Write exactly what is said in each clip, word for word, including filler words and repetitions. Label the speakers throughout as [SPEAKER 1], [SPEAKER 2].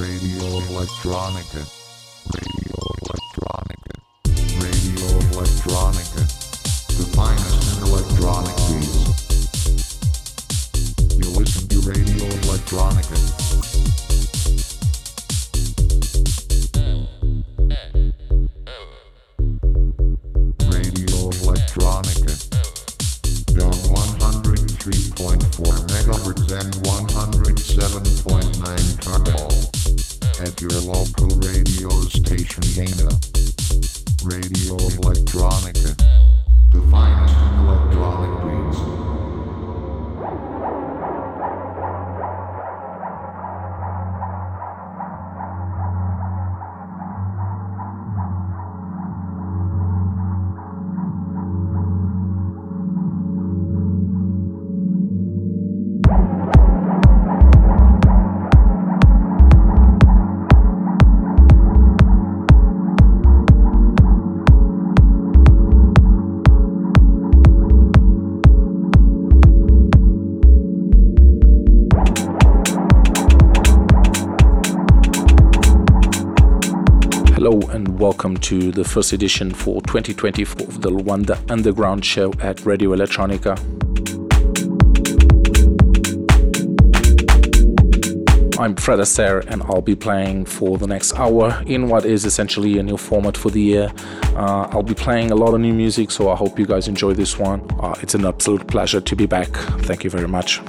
[SPEAKER 1] Radio Electronica. Radio Electronica. Radio Electronica. The finest in electronic beats. You listen to Radio Electronica. Radio Electronica. On one hundred three point four megahertz and one hundred seven point nine Carmel. At your local radio station Dana. Radio Electronica. The finest in electronic beats.
[SPEAKER 2] Hello and welcome to the first edition for twenty twenty-four of the Luanda Underground Show at Radio Electronica. I'm Fred Astaire and I'll be playing for the next hour in what is essentially a new format for the year. Uh, I'll be playing a lot of new music, so I hope you guys enjoy this one. Uh, it's an absolute pleasure to be back. Thank you very much.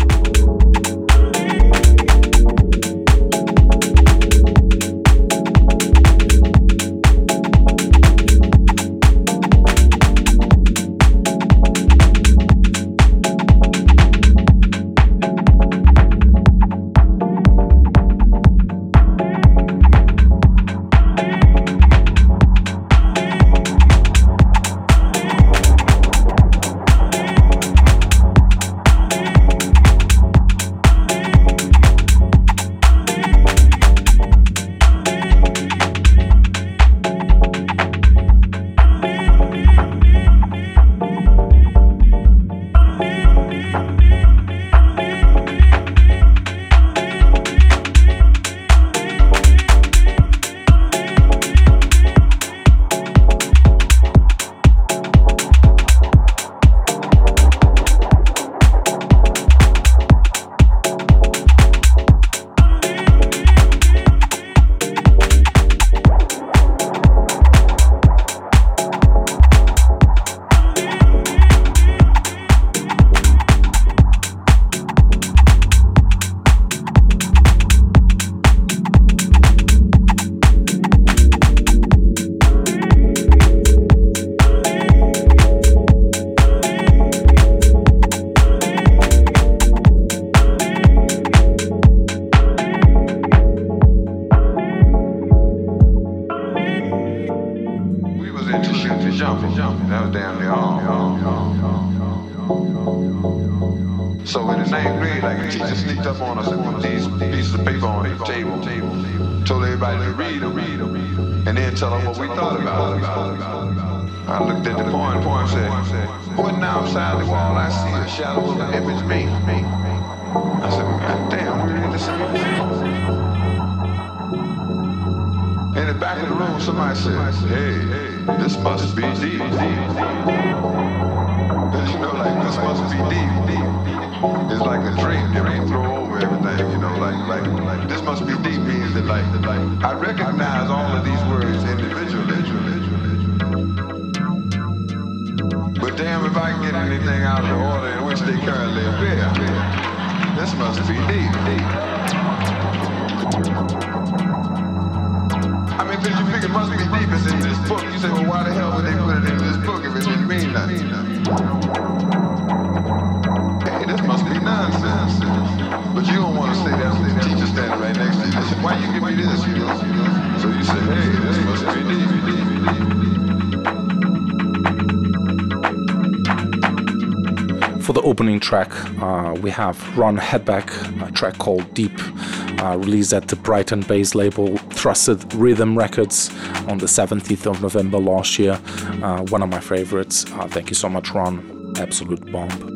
[SPEAKER 2] For the opening track, uh, we have Ron Headback, a track called Deep, uh, released at the Brighton-based label Thrusted Rhythm Records on the seventeenth of November last year. Uh, one of my favorites. Uh, thank you so much, Ron. Absolute bomb.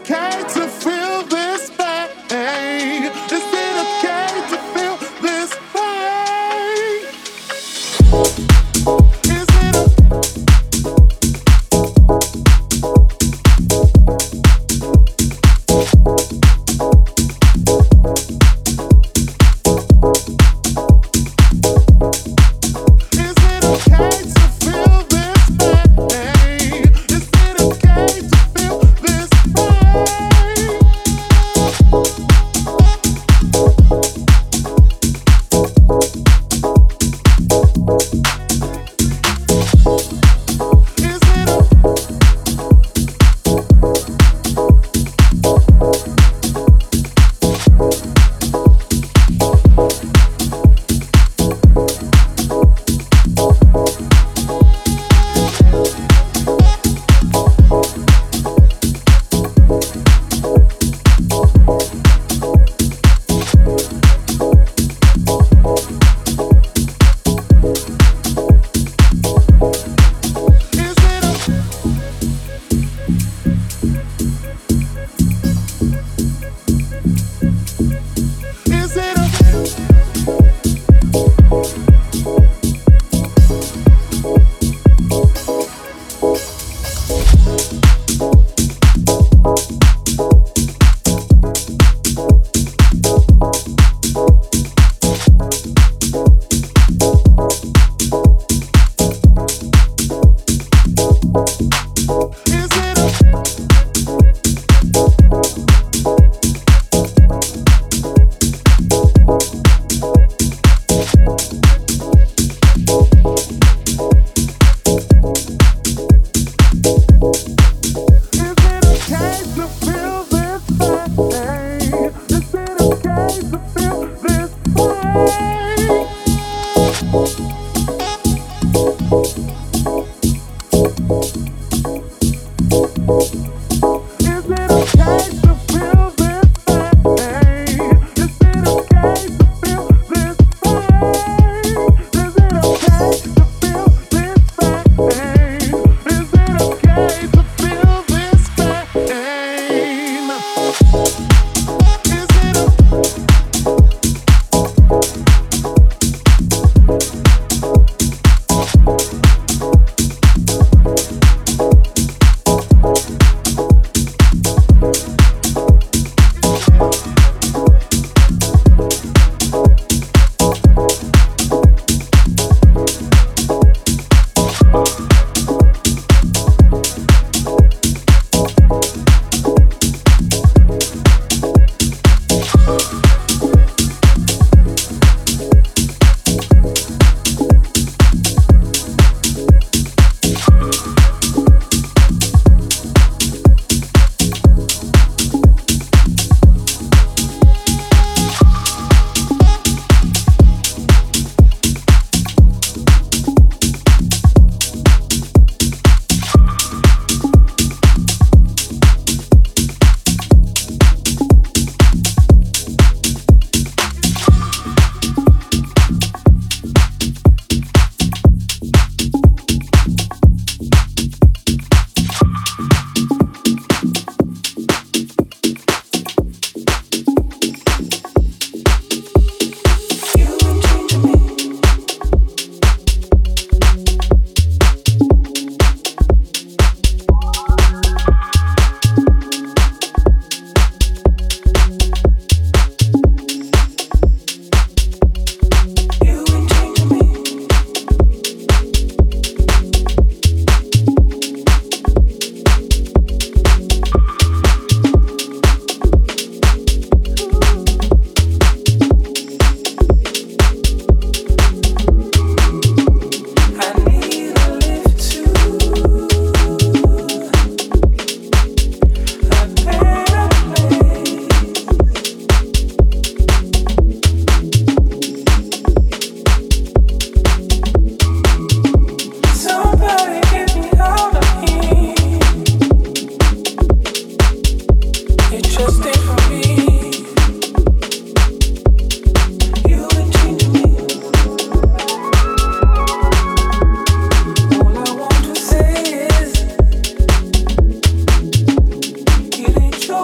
[SPEAKER 3] It ain't your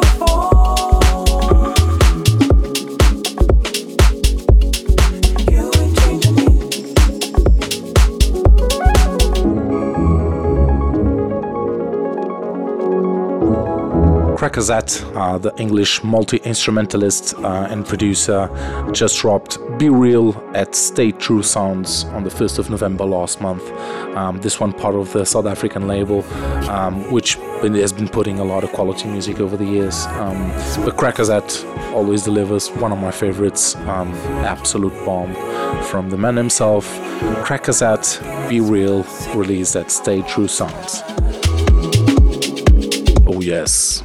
[SPEAKER 2] Crackazette, uh, the English multi-instrumentalist uh, and producer, just dropped Be Real at Stay True Sounds on the first of November last month. Um, this one part of the South African label, um, which has been putting a lot of quality music over the years. Um, but Crackazette always delivers, one of my favorites, um, absolute bomb from the man himself. Crackazette, Be Real, released at Stay True Sounds. Oh yes.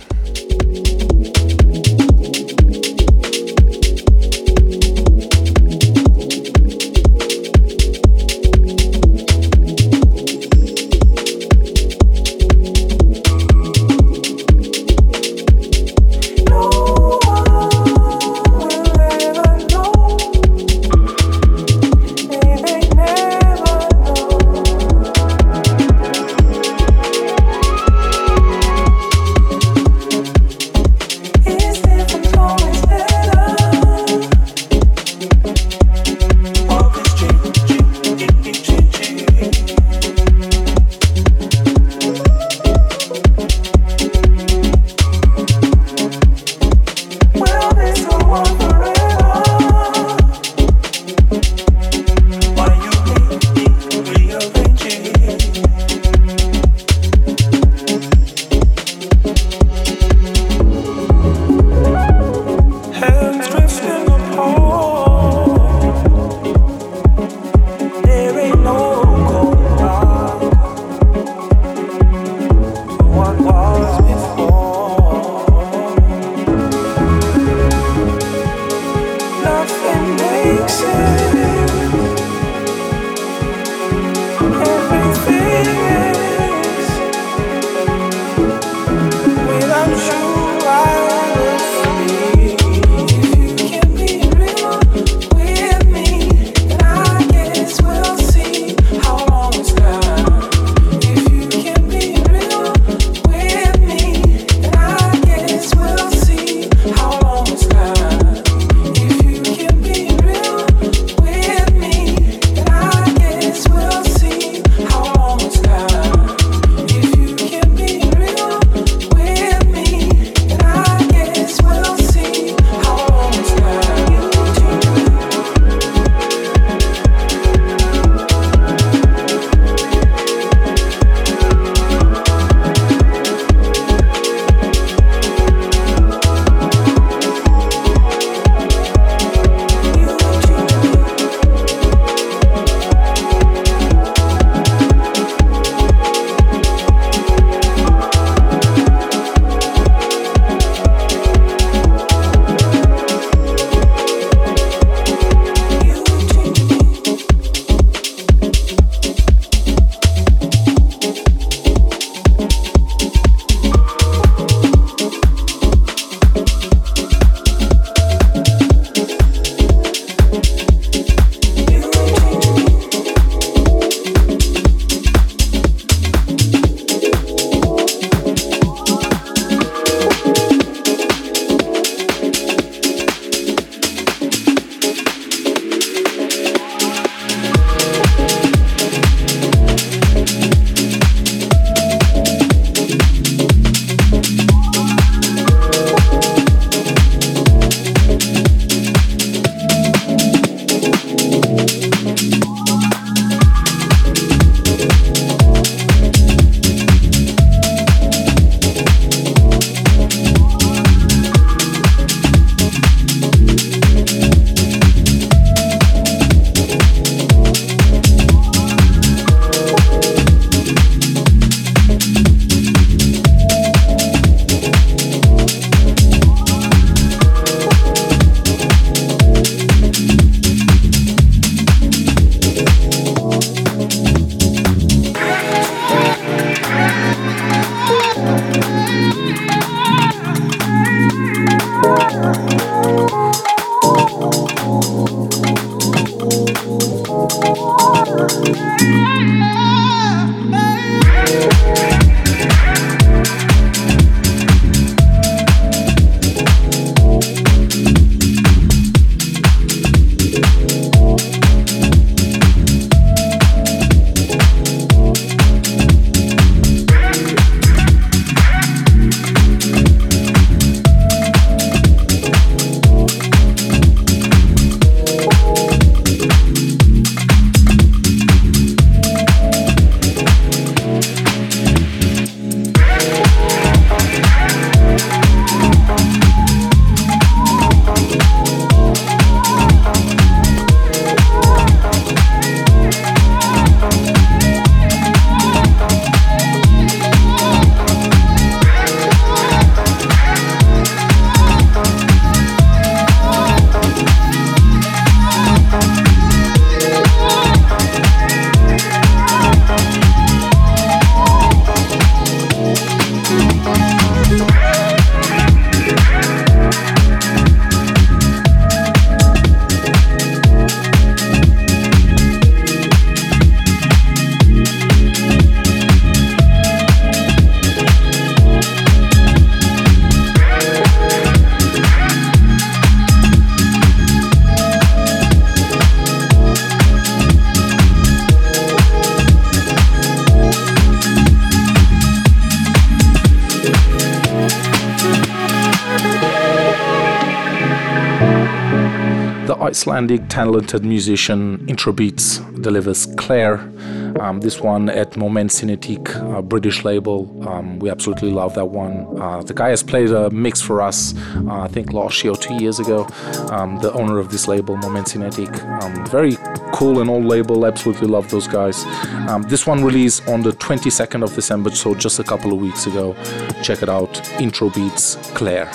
[SPEAKER 2] the Icelandic talented musician Introbeats delivers Claire. Um, this one at Moment Cinétique, a British label. Um, we absolutely love that one. Uh, the guy has played a mix for us, uh, I think last year or two years ago. Um, the owner of this label, Moment Cinétique. Um, very cool and old label, absolutely love those guys. Um, this one released on the twenty-second of December, so just a couple of weeks ago. Check it out, Introbeats, Claire.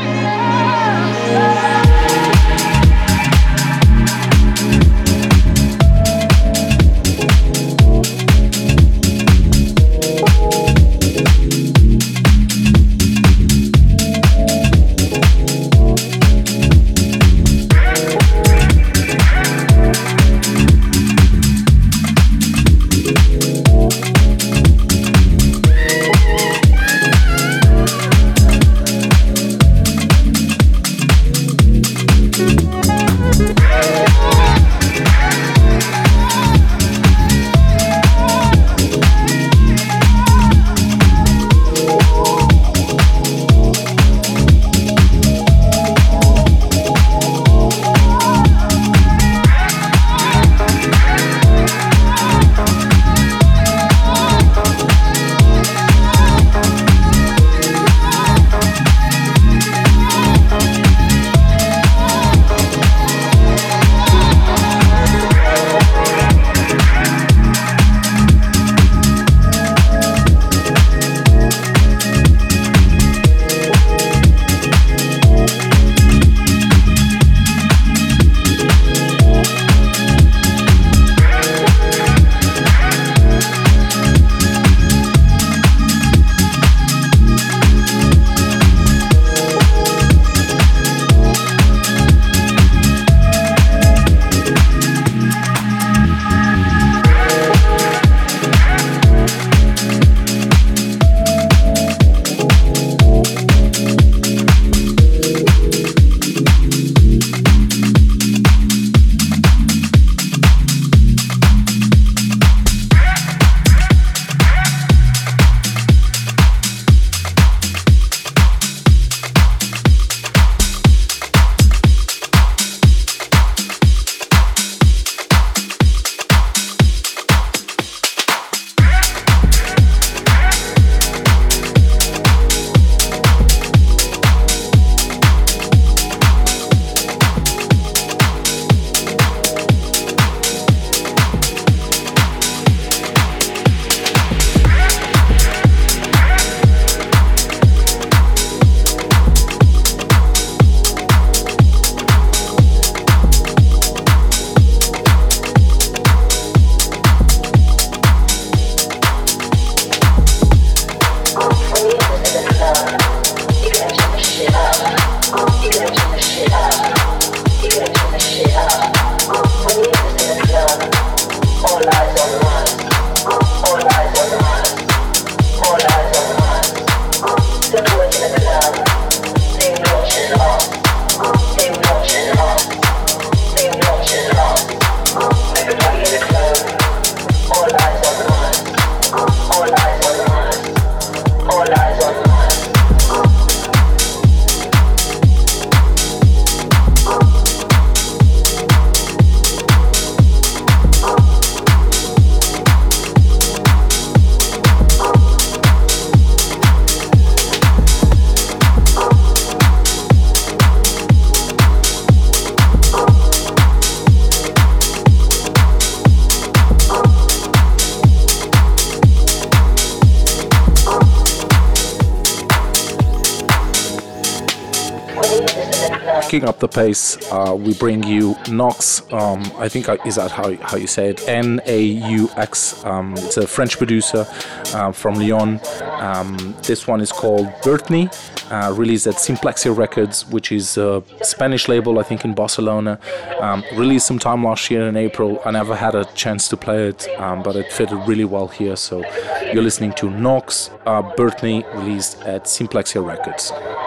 [SPEAKER 2] Picking up the pace, uh, we bring you Nox. Um, I think I, is that how how you say it? N A U X. Um, it's a French producer uh, from Lyon. Um, this one is called Bertni, uh, released at Simplexia Records, which is a Spanish label, I think, in Barcelona. Um, released some time last year in April. I never had a chance to play it, um, but it fitted really well here. So you're listening to Nox, uh, Bertni, released at Simplexia Records.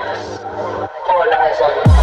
[SPEAKER 3] All eyes on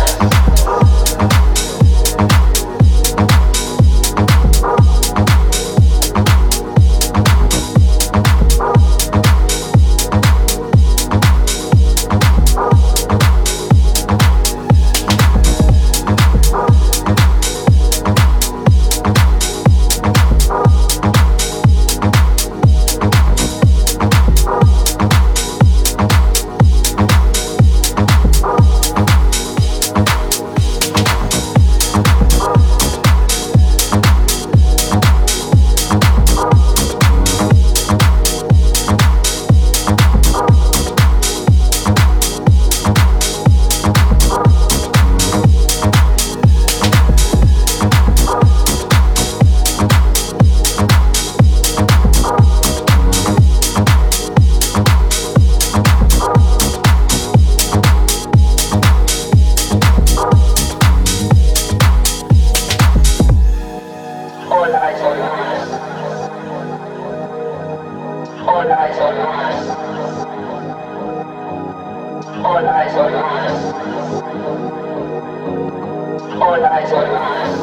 [SPEAKER 3] All eyes on us.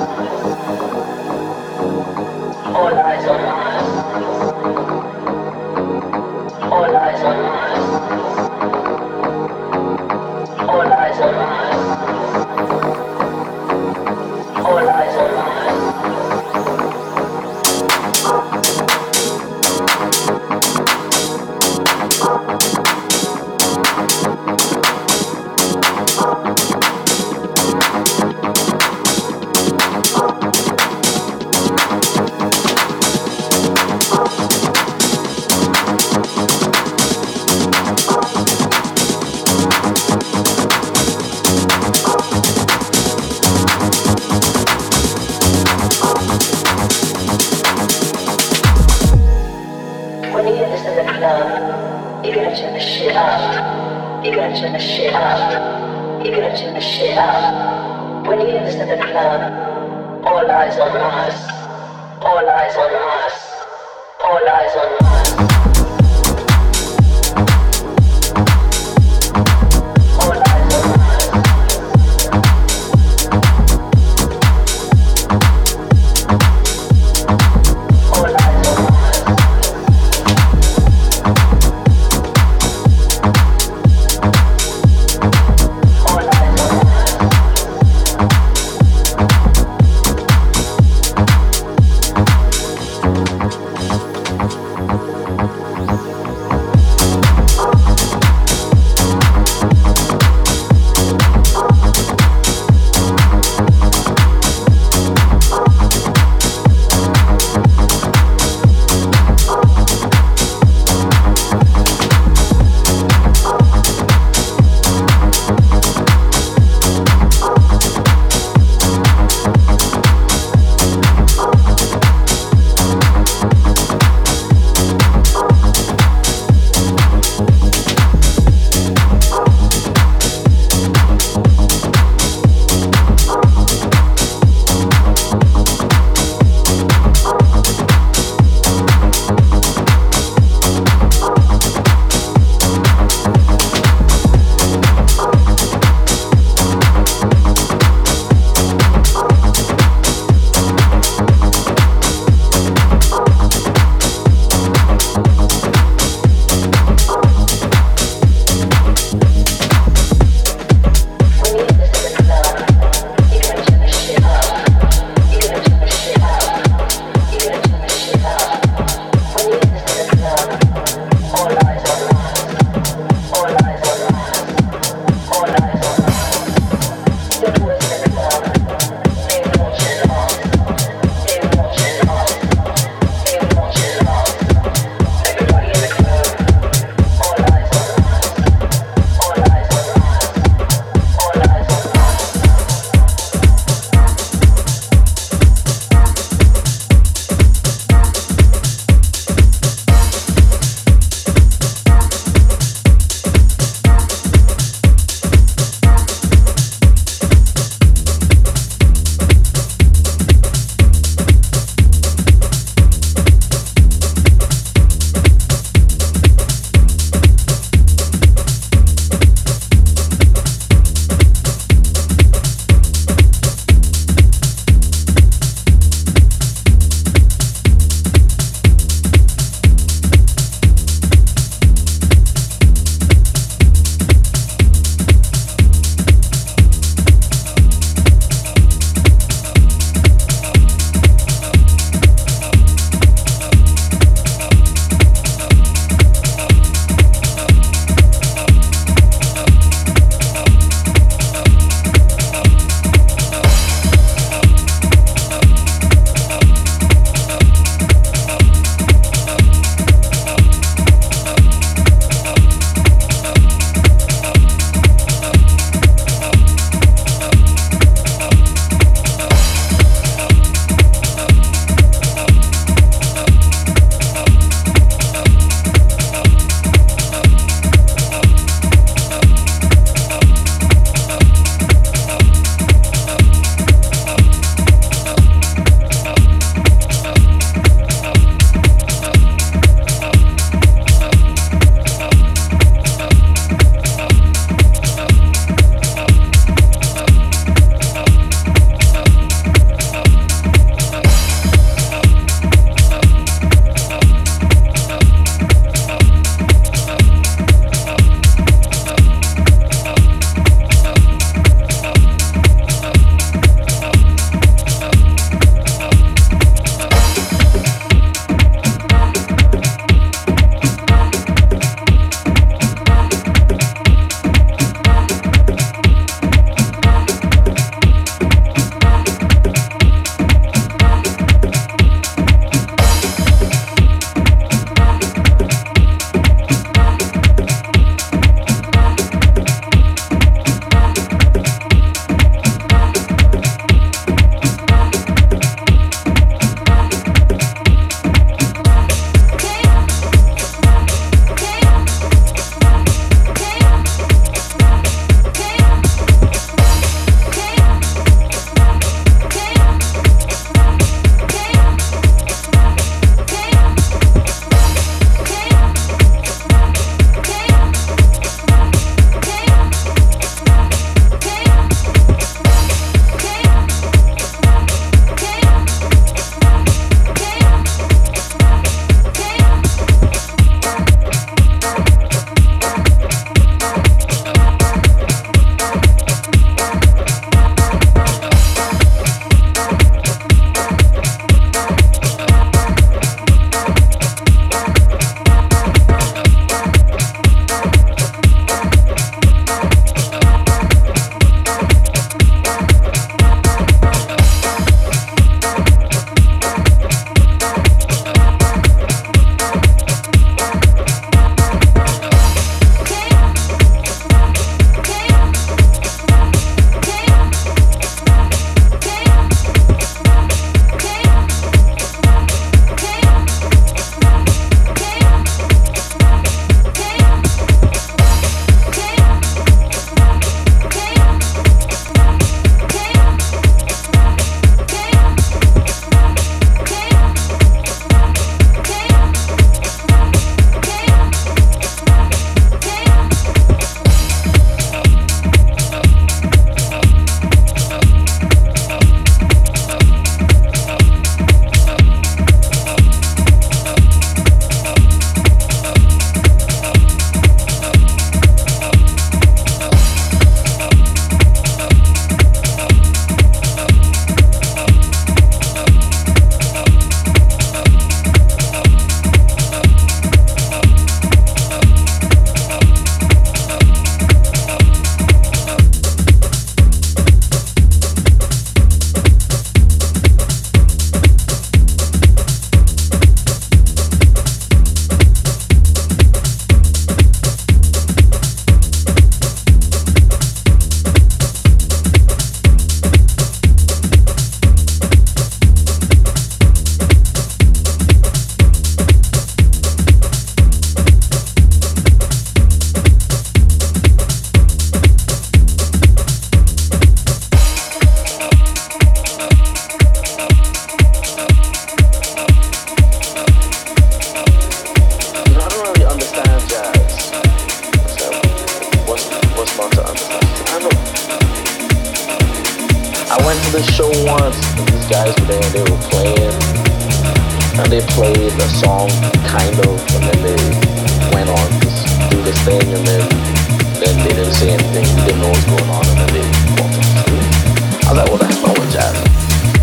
[SPEAKER 3] All eyes on us. All eyes on us. All eyes on us. All eyes on us. When you get this in the club, you're gonna turn the shit up. You're gonna turn the shit up. You're gonna turn the shit up. When you get this in the club, all eyes on us. All eyes on us. All eyes on us. All eyes on us. All eyes on us. Thank you.
[SPEAKER 4] I went to the show once, and these guys were there, they were playing, and they played a song, kind of, and then they went on to do this thing, and then, then they didn't say anything, we didn't know what was going on, and then they walked off the stage. I was like, well, that's not what jazz is.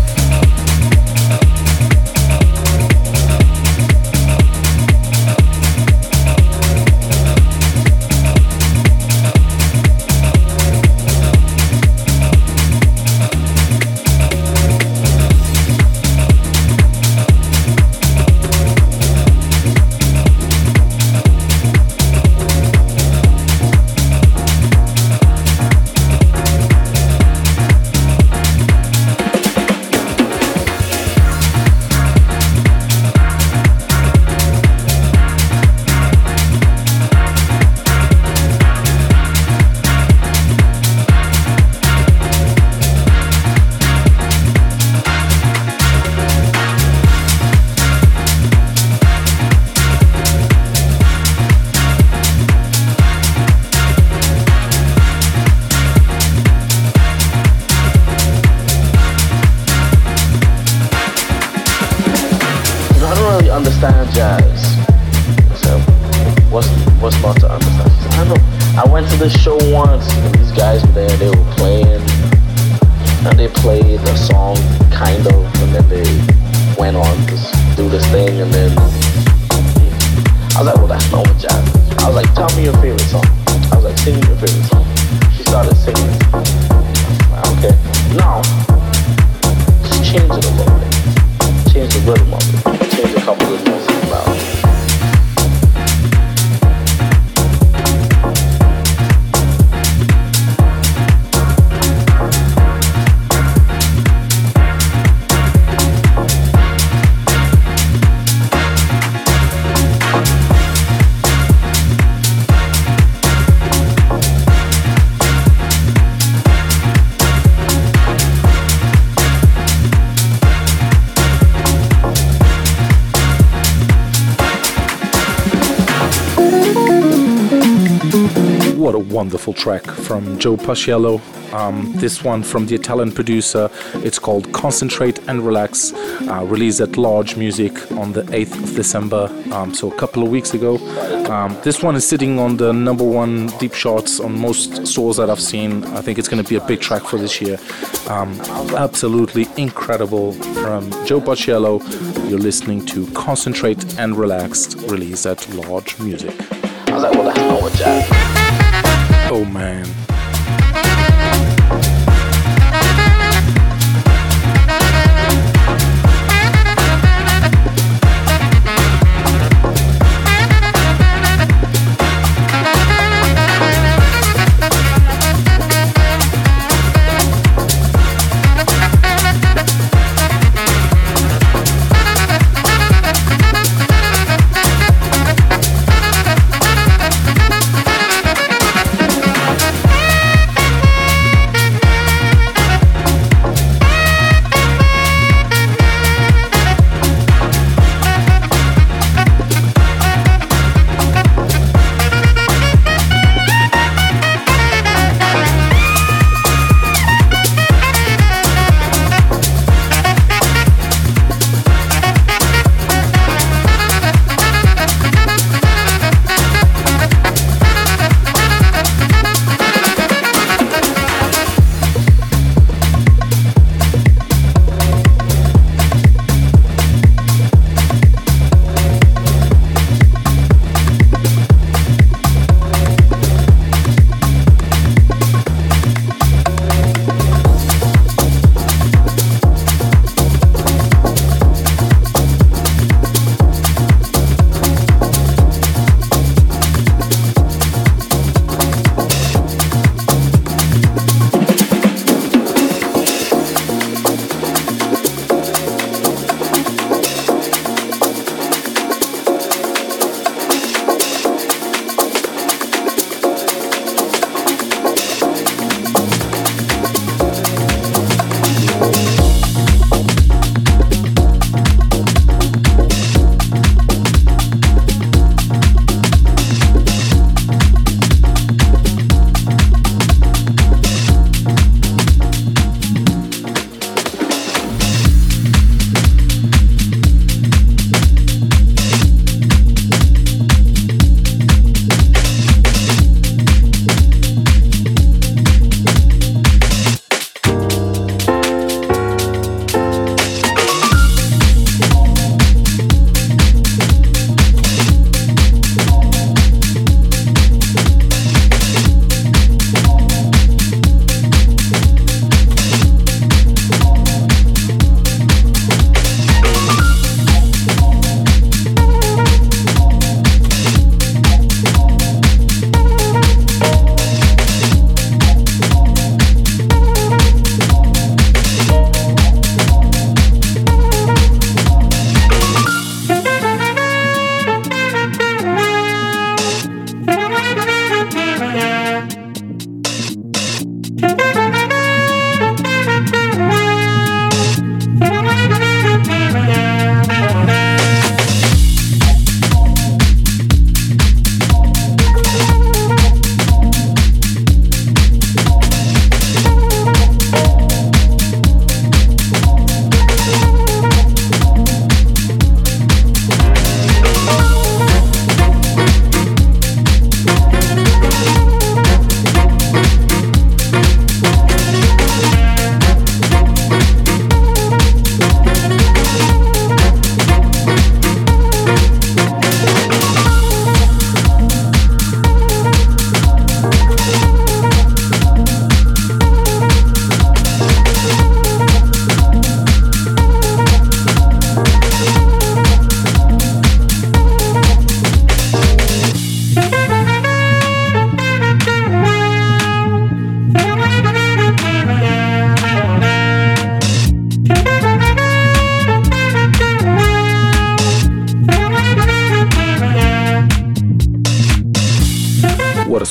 [SPEAKER 4] Understand jazz. So what's what's not to understand? I don't know. I went to the show once, and these guys were there. They were playing, and they played a song, kind of, and then they went on to do this thing, and then I was like, well, that's not what jazz is. I was like, tell me your favorite song. I was like, sing me your favorite song. She started singing. Okay, now just change it a little bit. Change the rhythm of it. Change a couple of notes about it.
[SPEAKER 2] What a wonderful track from Joe Paciello. Um, this one from the Italian producer. It's called Concentrate and Relax, uh, released at Large Music on the eighth of December, um, so a couple of weeks ago. Um, this one is sitting on the number one deep charts on most stores that I've seen. I think it's going to be a big track for this year. Um, absolutely incredible from Joe Paciello. You're listening to Concentrate and Relax, released at Large Music.
[SPEAKER 4] I was like, well, that's not what jazz is.
[SPEAKER 2] Oh man.
[SPEAKER 5] We'll be right back.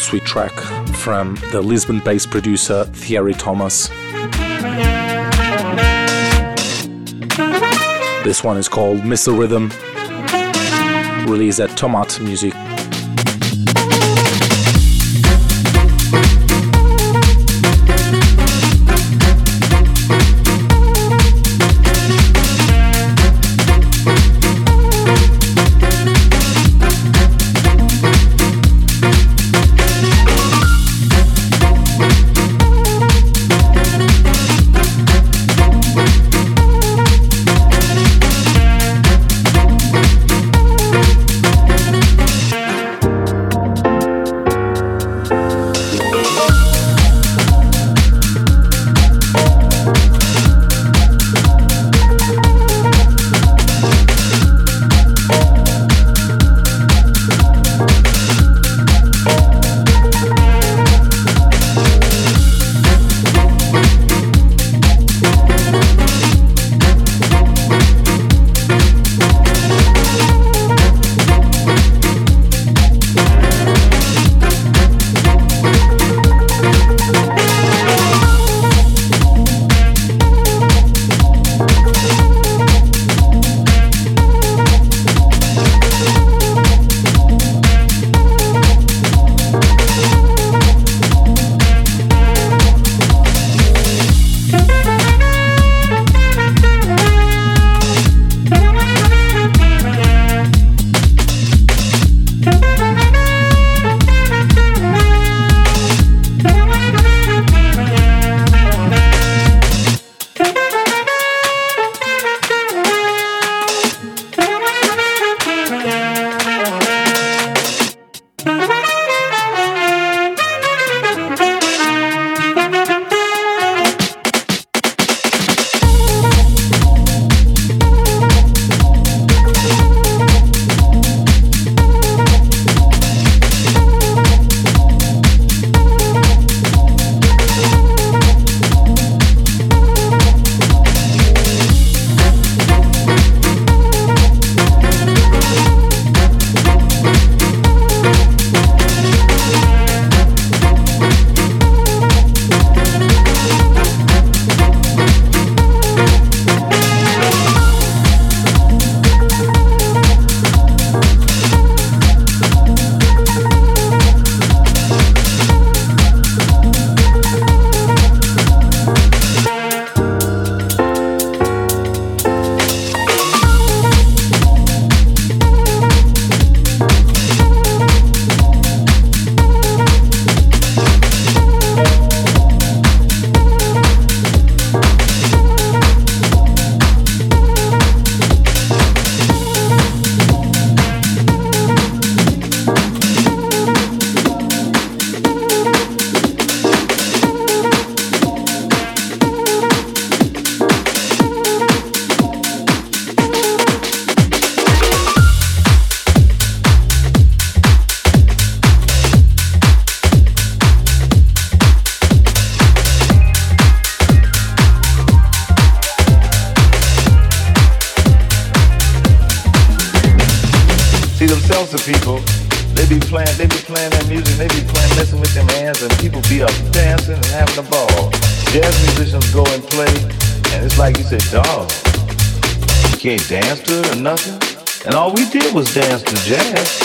[SPEAKER 2] sweet track from the Lisbon-based producer Thierry Thomas. This one is called Missile Rhythm, released at Tomat Music.
[SPEAKER 5] People, they be playing, they be playing that music, they be playing, messing with them hands, and people be up dancing and having a ball. Jazz musicians go and play, and it's like you said, dog, you can't dance to it or nothing. And all we did was dance to jazz.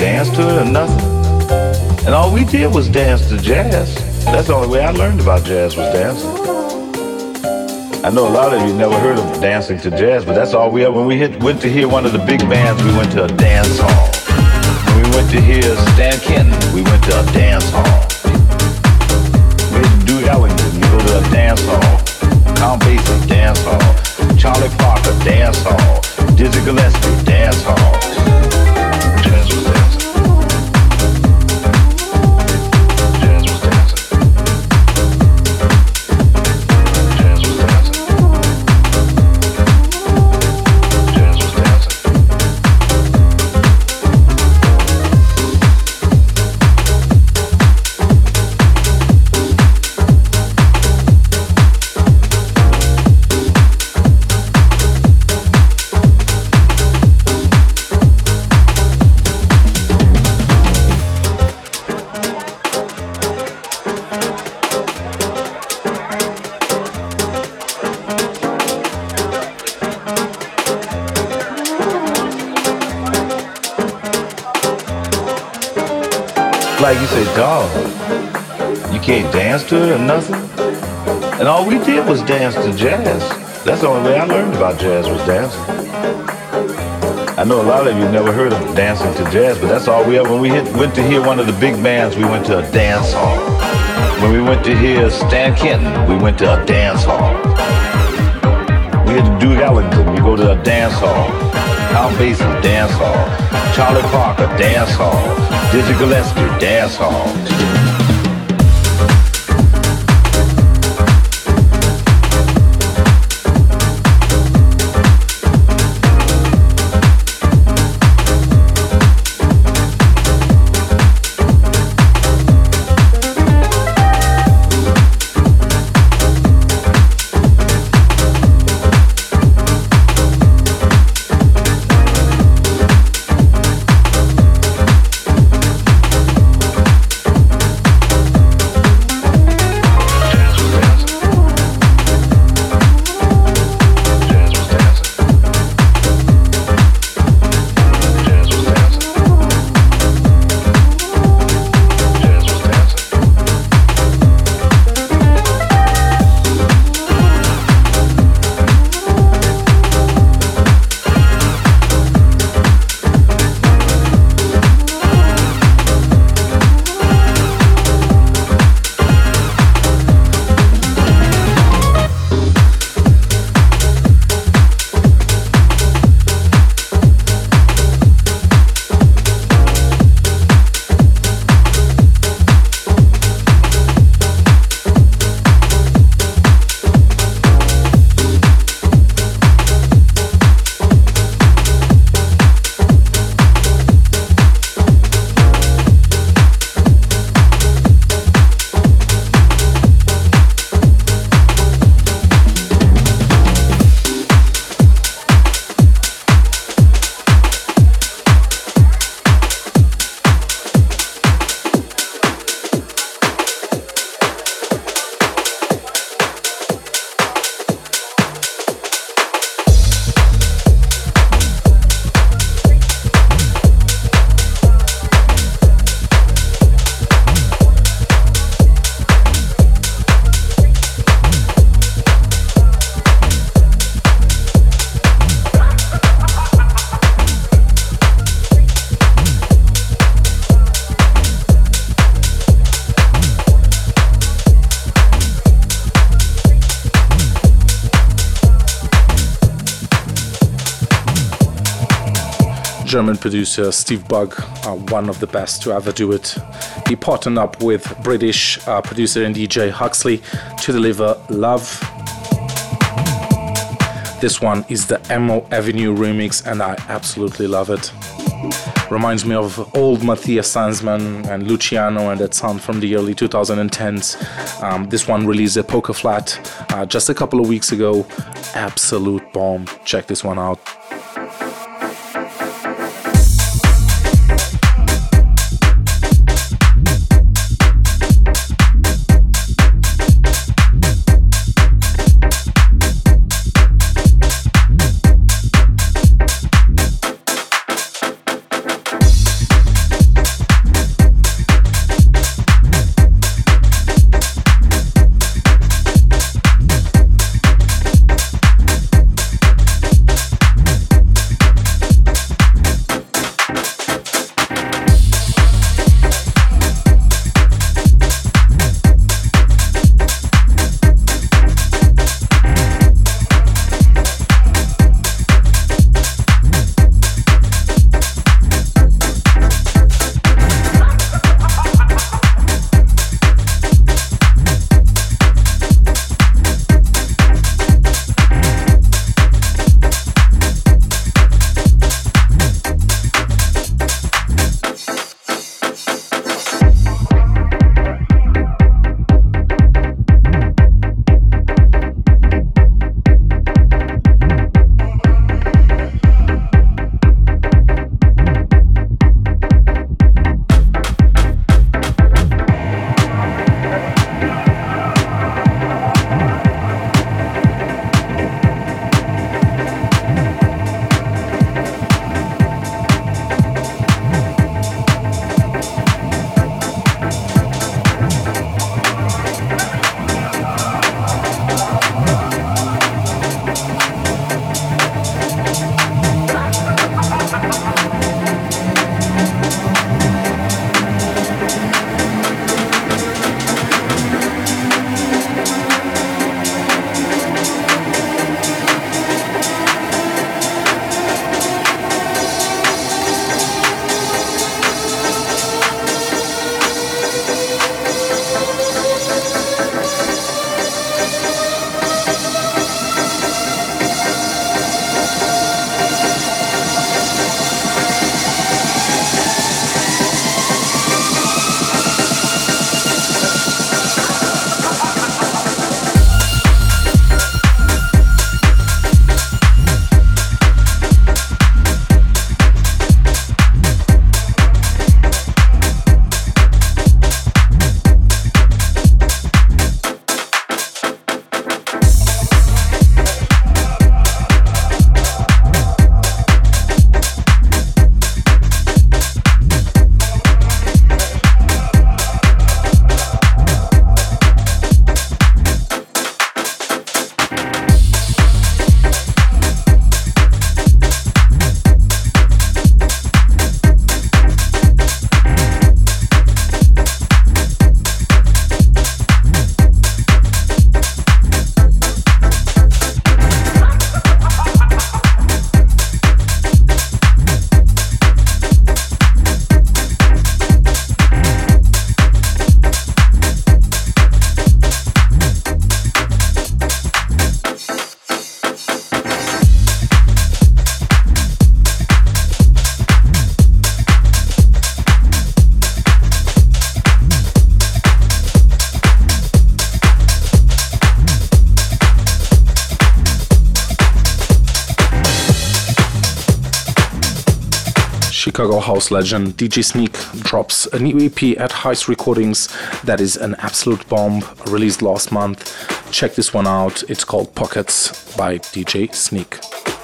[SPEAKER 5] dance to it or nothing. And all we did was dance to jazz. That's the only way I learned about jazz was dancing. I know a lot of you never heard of dancing to jazz, but that's all we ever. When we hit, went to hear one of the big bands, we went to a dance hall. When we went to hear Stan Kenton, we went to a dance hall. We had to do Ellington, we go to a dance hall. Count Basie, dance hall. Charlie Parker, dance hall. Dizzy Gillespie, dance hall. Jazz was dancing. Jazz was dancing. Jazz was dancing. Jazz was dancing. Like you say, dog, you can't dance to it or nothing. And all we did was dance to jazz. That's the only way I learned about jazz was dancing. I know a lot of you never heard of dancing to jazz, but that's all we ever. When we hit, went to hear one of the big bands, we went to a dance hall. When we went to hear Stan Kenton, we went to a dance hall. We had to do Ellington, we go to a dance hall. Count Basie, dance hall. Charlie Parker, dance hall. Dizzy Gillespie, dance hall.
[SPEAKER 2] German producer Steve Bug, uh, one of the best to ever do it. He partnered up with British uh, producer and D J Huxley to deliver Love. This one is the Emo Avenue remix and I absolutely love it. Reminds me of old Matthias Sanzman and Luciano and that sound from the early twenty tens. Um, this one released at Poker Flat uh, just a couple of weeks ago. Absolute bomb. Check this one out. Chicago house legend D J Sneak drops a new E P at Heist Recordings that is an absolute bomb, released last month. Check this one out. It's called Pockets by D J Sneak.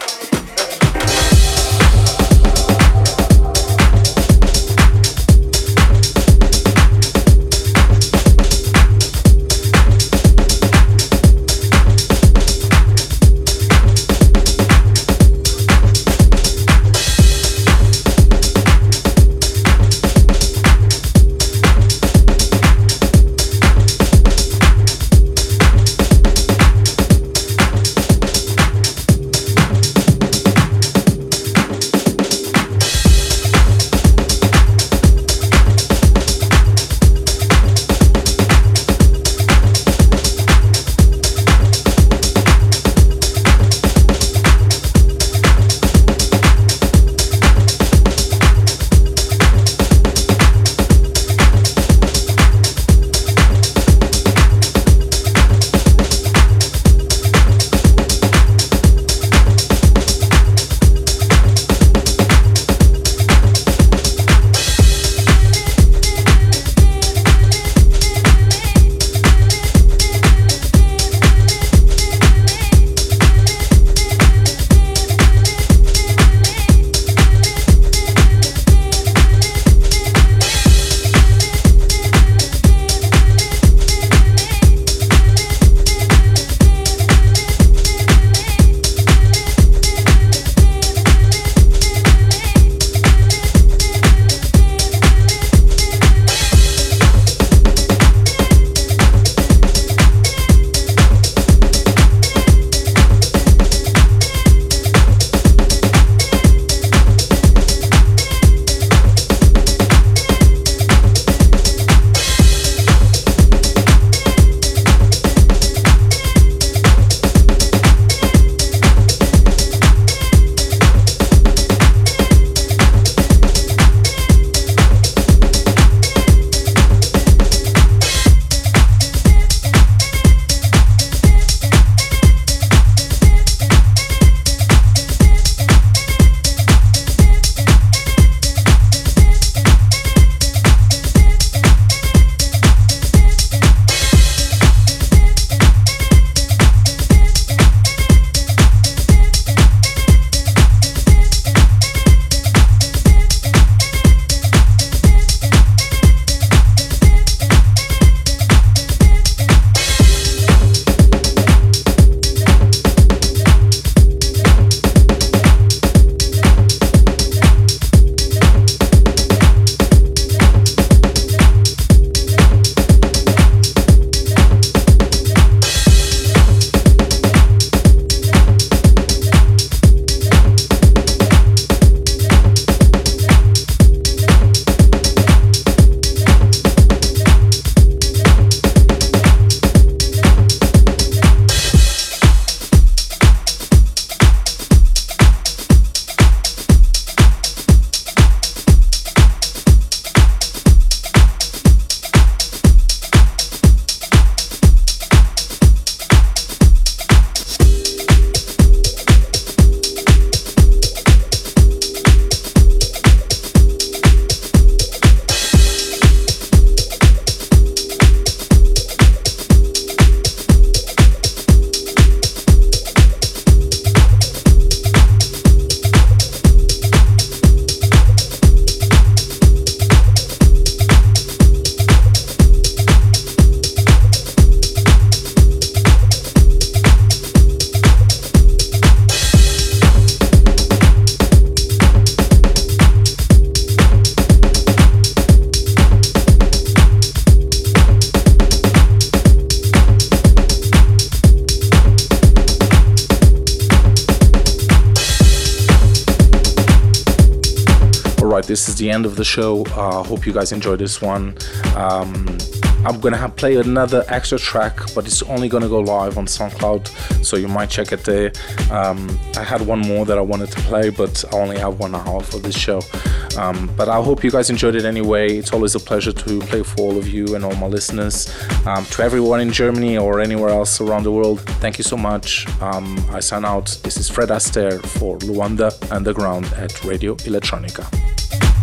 [SPEAKER 6] Alright, this is the end of the show. I uh, hope you guys enjoyed this one. Um, I'm gonna have play another extra track, but it's only gonna go live on SoundCloud, so you might check it there. Um, I had one more that I wanted to play, but I only have one hour for this show. Um, but I hope you guys enjoyed it anyway. It's always a pleasure to play for all of you and all my listeners. Um, to everyone in Germany or anywhere else around the world, thank you so much. Um, I sign out. This is Fred Astaire for Luanda Underground at Radio Electronica.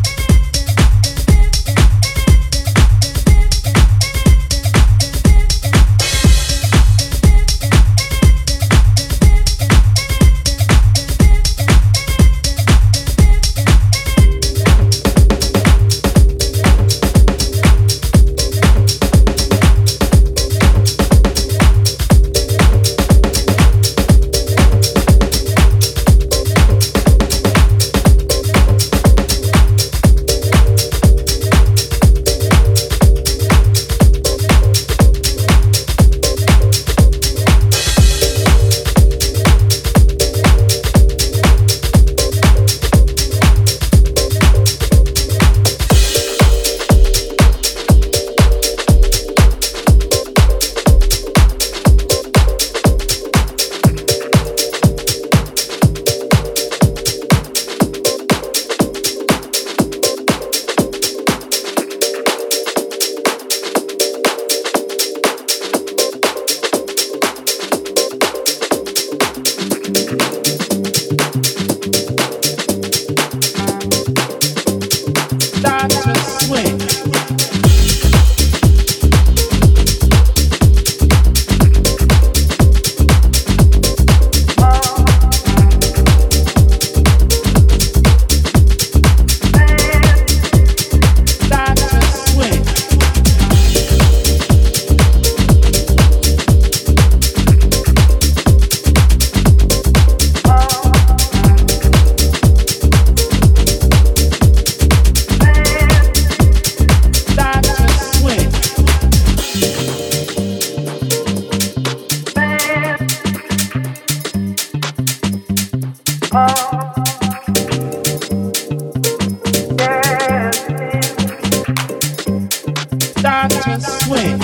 [SPEAKER 7] Doctor Swing.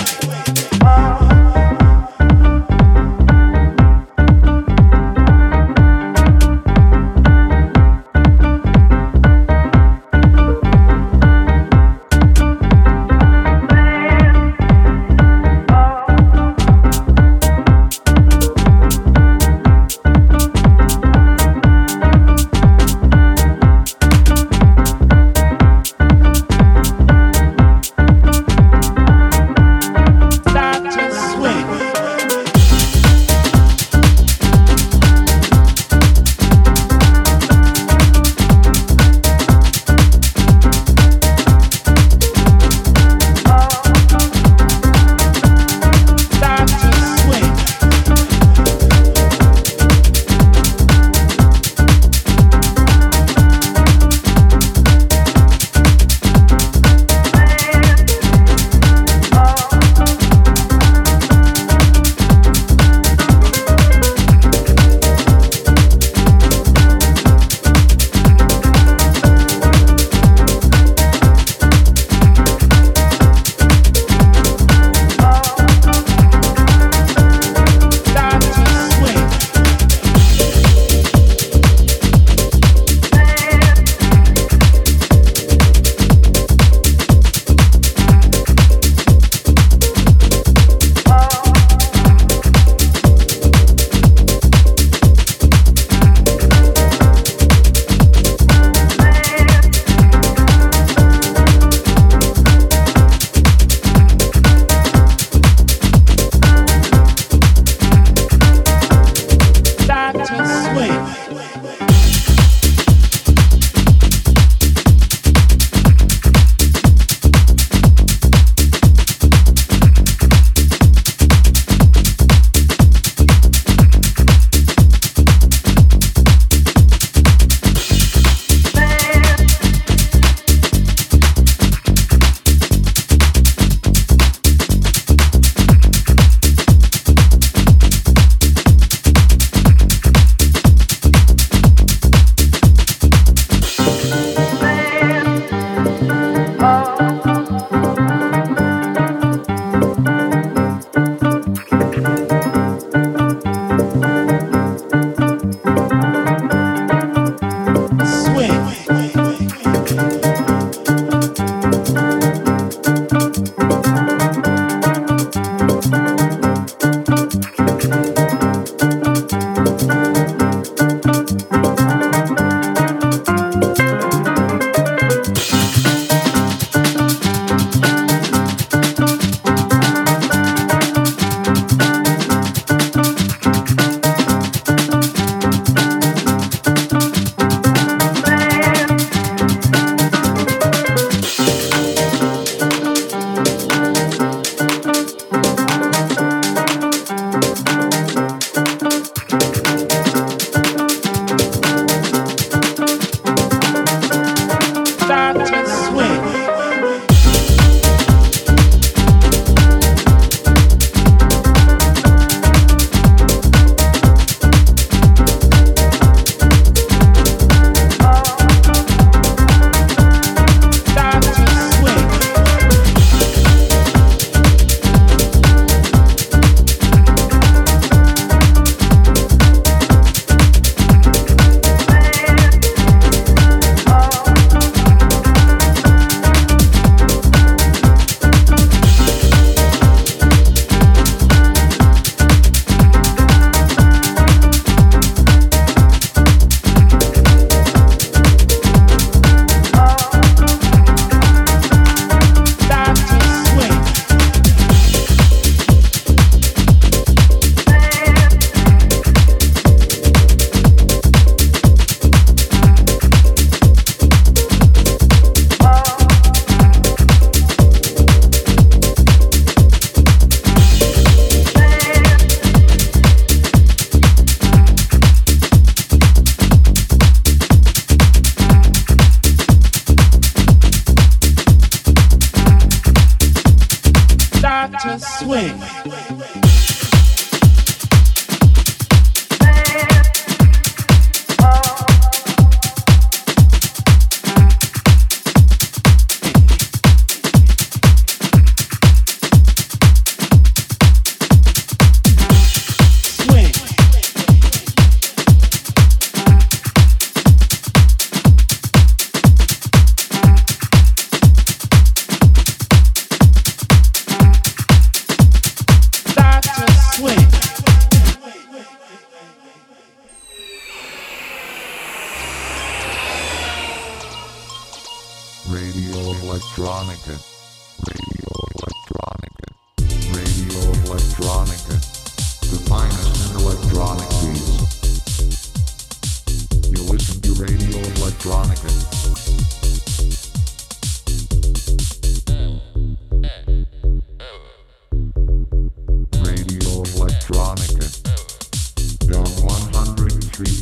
[SPEAKER 7] swing.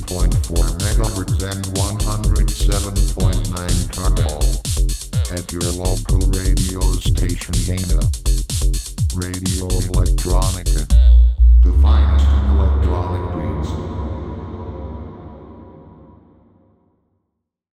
[SPEAKER 1] point four megahertz and one hundred seven point nine Kabul. At your local radio station Dana. Radio Electronica.